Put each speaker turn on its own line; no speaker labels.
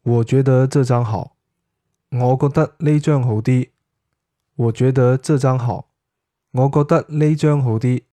我觉得这张好。我覺得呢張好啲。我覺得這張好。我覺得呢張好啲。